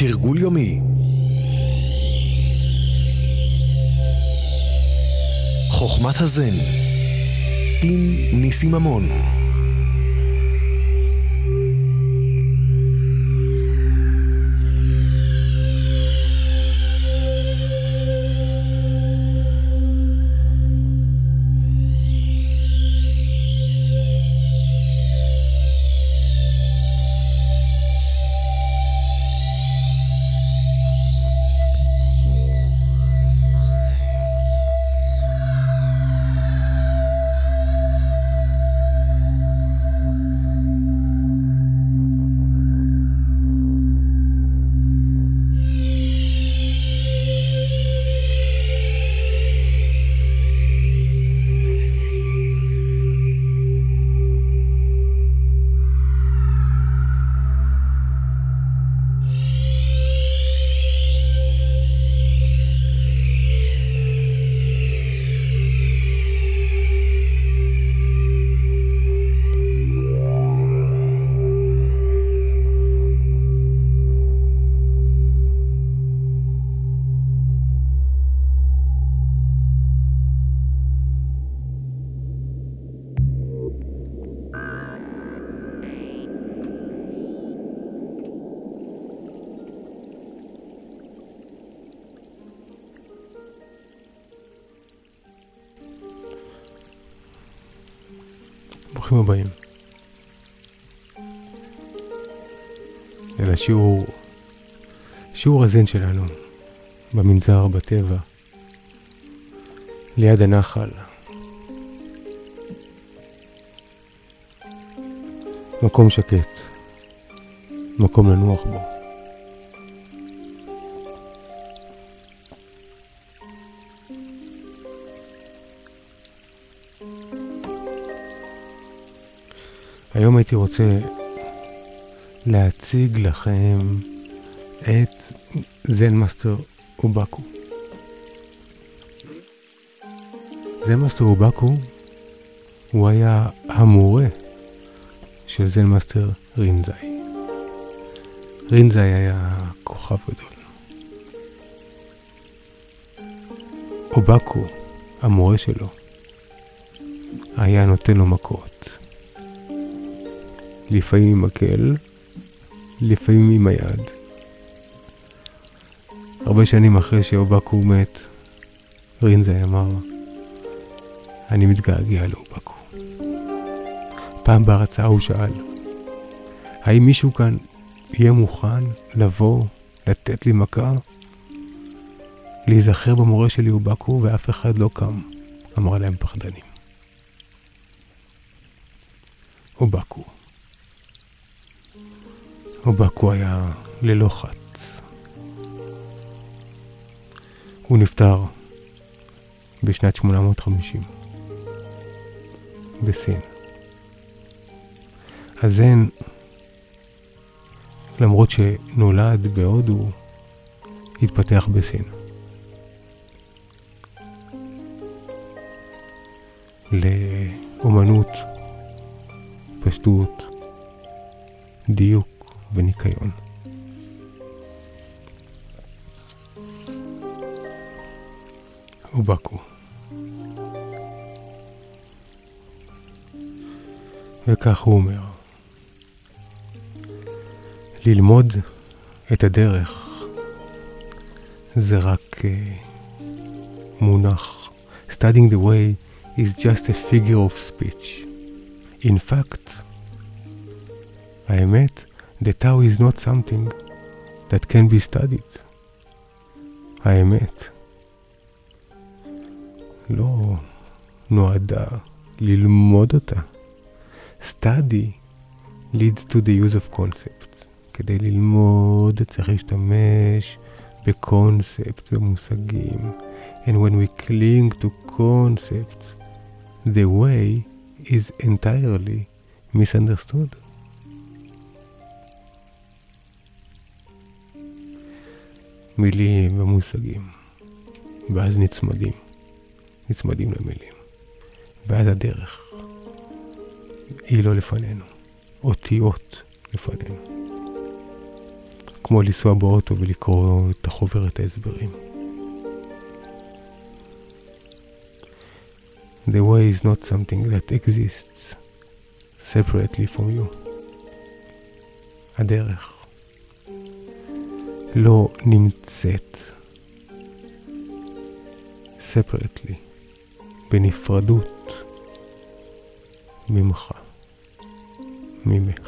תרגול יומי. חוכמת הזן עם ניסים ממון. ברוכים הבאים אל שיעור הזן שלנו במנזר, בטבע, ליד הנחל. מקום שקט, מקום לנוח בו. היום הייתי רוצה להציג לכם את זן מאסטר אובאקו. זן מאסטר אובאקו הוא היה המורה של זן מאסטר רינזאי. רינזאי היה כוכב גדול. אובאקו, המורה שלו, היה נותן לו מכות. לפעמים עם מקל, לפעמים עם היד. הרבה שנים אחרי שאובאקו מת, רינזאי אמר, אני מתגעגע לאובאקו. פעם בהרצאה הוא שאל, האם מישהו כאן יהיה מוכן לבוא, לתת לי מכה? להיזכר במורה שלי אובאקו, ואף אחד לא קם. אמרה להם פחדנים. אובאקו היה ללא חת. הוא נפטר בשנת 850 בסין. הזן, למרות שנולד בהודו, התפתח בסין. לאומנות, פשטות, דיוק וניקיון. אובאקו. וכך הוא אומר, ללמוד את הדרך זה רק מונח. Studying the way is just a figure of speech. In fact, האמת, the Tao is not something that can be studied. האמת לא נועדה ללמוד אותה. Study leads to the use of concepts. כדי ללמוד צריך להשתמש בקונספט, במושגים. And when we cling to concepts, the way is entirely misunderstood. מילים ומושגים, ואז נצמדים למילים, ואז הדרך היא לא לפנינו, אותיות לפנינו. כמו לנסוע באוטו ולקרוא את החוברת ההסברים. The way is not something that exists separately from you. הדרך לא נמצאת separately, בנפרדות ממך, ממך.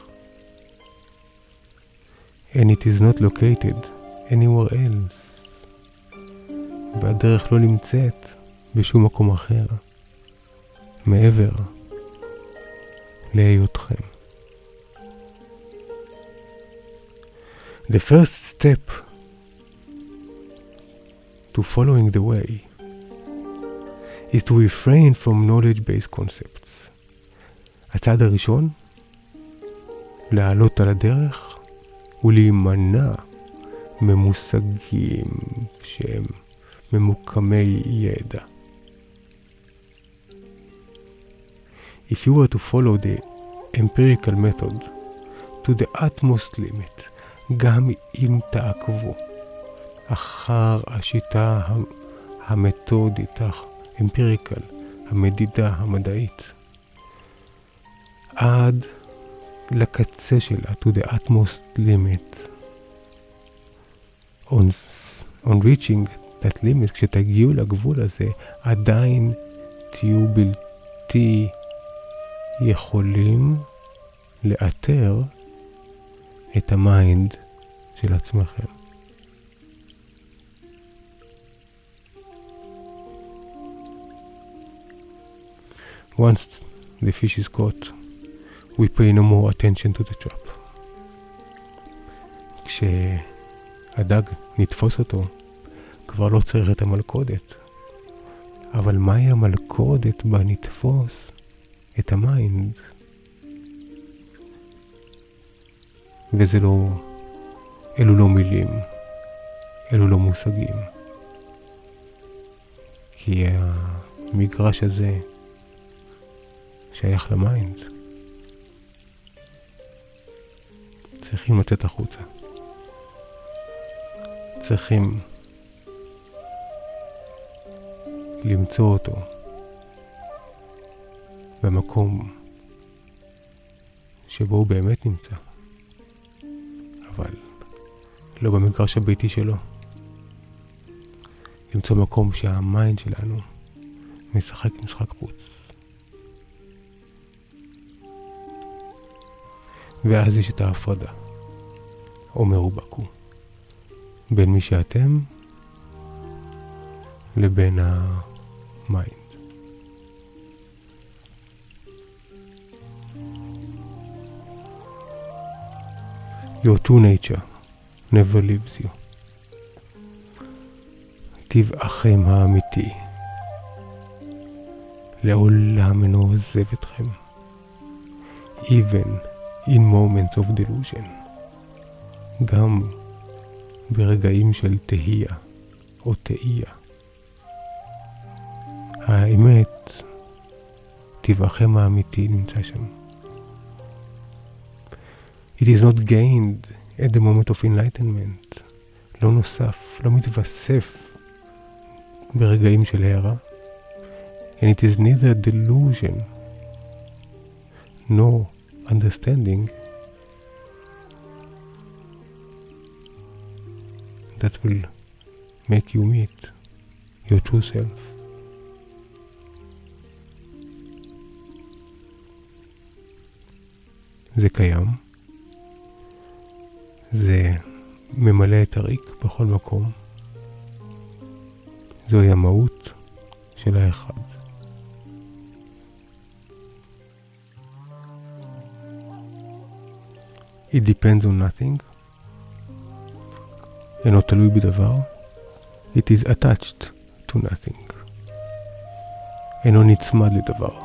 And it is not located anywhere else. והדרך לא נמצאת בשום מקום אחר, מעבר להיותכם. The first step to following the way is to refrain from knowledge-based concepts. הצעד הראשון, לעלות על הדרך ולהימנע ממושגים שהם ממוקמי ידע. If you were to follow the empirical method to the utmost limit, גם אם תעקבו אחר השיטה המתודית, האמפיריקל, המדידה המדעית, עד לקצה שלה, to the utmost limit, on reaching that limit, כשתגיעו לגבול הזה, עדיין תהיו בלתי יכולים לאתר את המיינד של עצמכם. Once the fish is caught, we pay no more attention to the trap. כשהדג נתפוס אותו, כבר לא צריך את המלכודת. אבל מהי המלכודת בה נתפוס את המיינד? וזה לא, אלו לא מילים, אלו לא מושגים. כי המגרש הזה שייך למיינד. צריכים לצאת החוצה. צריכים למצוא אותו במקום שבו הוא באמת נמצא. אבל לא במגרש הביתי שלו. למצוא מקום שהמיינד שלנו משחק משחק חוץ. ואז יש את ההפרדה, אומר ובקו, בין מי שאתם לבין המיינד. Your true nature never leaves you. טבעכם האמיתי לעולם אינו עוזב אתכם. Even in moments of delusion. גם ברגעים של תהייה או תהייה. האמת, טבעכם האמיתי נמצא שם. It is not gained at the moment of enlightenment. לא נוסף, לא מתווסף ברגעים של הערה. And it is neither delusion nor understanding that will make you meet your true self. זה קיים. זה ממלא את הריק בכל מקום. זוהי המהות של האחד. It depends on nothing. אינו תלוי בדבר. It is attached to nothing. אינו נצמד לדבר.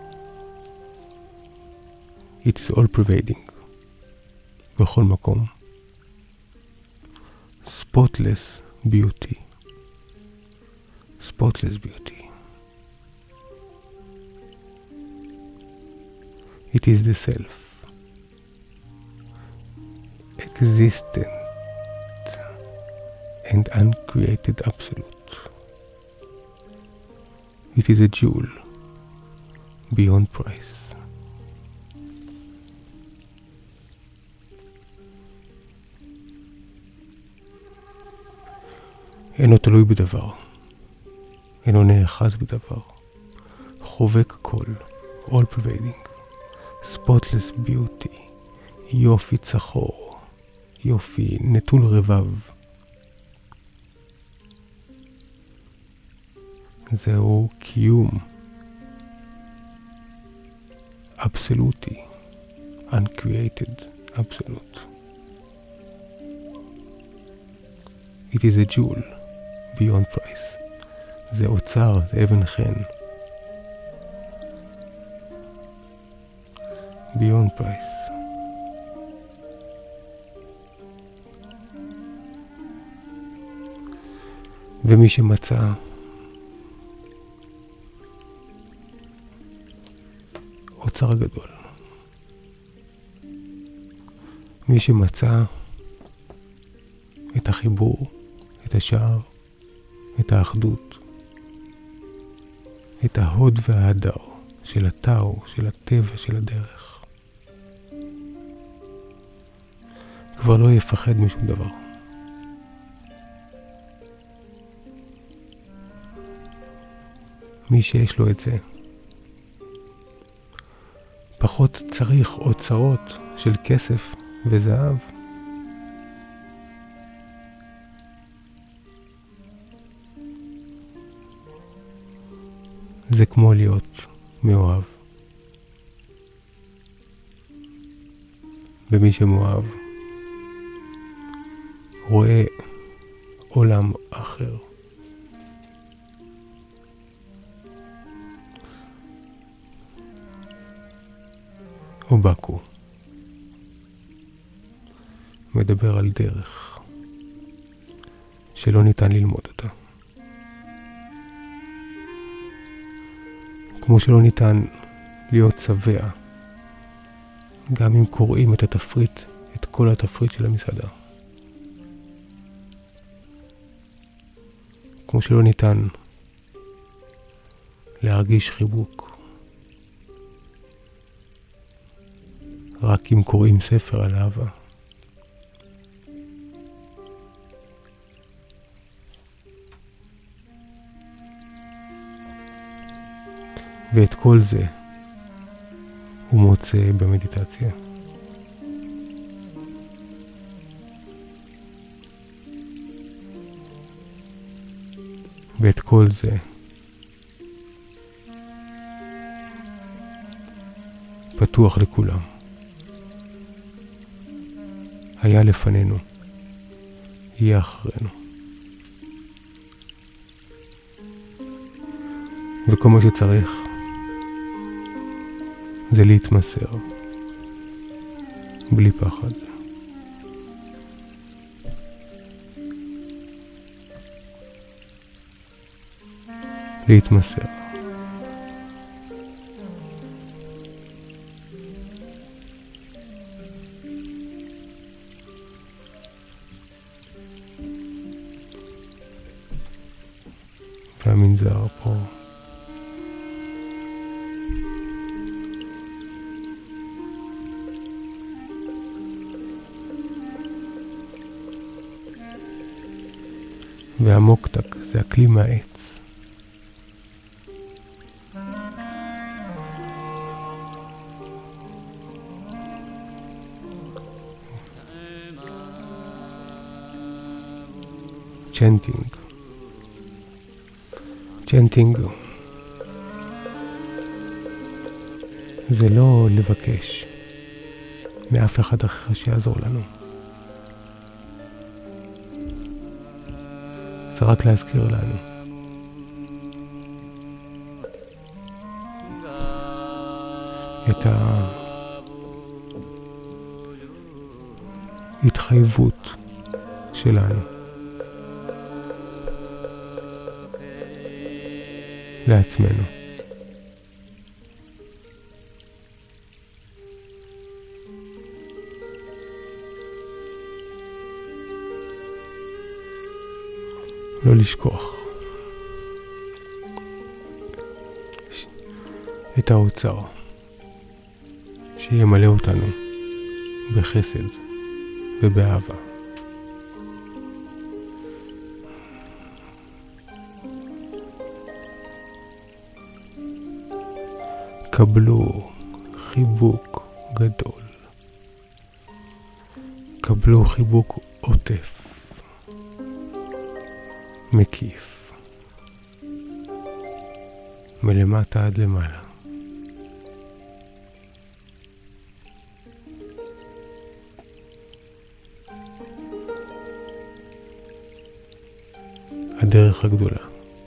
It is all pervading. בכל מקום. Spotless beauty. Spotless beauty. It is the self. Existent and uncreated absolute. It is a jewel beyond price. אינו תלוי בדבר, אינו נאחז בדבר, חובק כל, all pervading, spotless beauty, יופי צחור, יופי נטול רבב. זהו קיום אבסולוטי, uncreated absolute. It is a jewel beyond price. זה אוצר, זה אבן חן. beyond price. ומי שמצא אוצר גדול, מי שמצא את החיבור, את השער, את האחדות, את ההוד וההדר של הטאו, של הטבע, של הדרך, כבר לא יפחד משום דבר. מי שיש לו את זה, פחות צריך אוצרות של כסף וזהב. זה כמו להיות מאוהב. ומי שמאוהב רואה עולם אחר. אובקו מדבר על דרך שלא ניתן ללמוד אותה. כמו שלא ניתן להיות שבע גם אם קוראים את התפריט, את כל התפריט של המסעדה. כמו שלא ניתן להרגיש חיבוק רק אם קוראים ספר על אהבה. ואת כל זה הוא מוצא במדיטציה. ואת כל זה פתוח לכולם. היה לפנינו, יהיה אחרינו. וכל מה שצריך זה להתמסר בלי פחד. להתמסר. והמנזר פה והמוקטק זה הכלי מהעץ. צ'נטינג זה לא לבקש מאף אחד אחר שיעזור לנו. זה רק להזכיר לנו את ההתחייבות שלנו לעצמנו. לא לשכוח את האוצר שימלא אותנו בחסד ובאהבה. קבלו חיבוק גדול, קבלו חיבוק עוטף, מקיף, מלמטה עד למעלה. הדרך הגדולה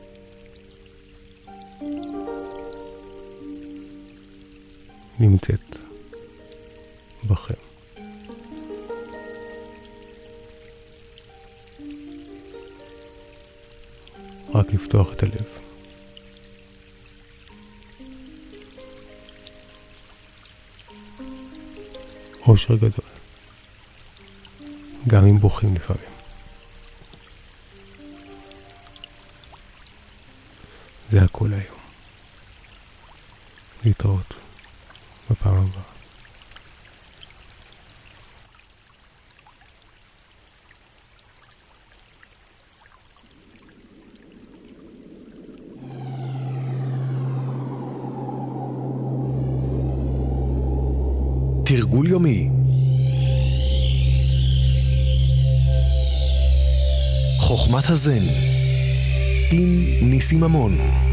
נמצאת בכם. רק לפתוח את הלב. אושר גדול, גם אם בוכים לפעמים. זה הכל היום. להתראות בפעם הבאה. תרגול יומי. חוכמת הזן עם ניסים ממון.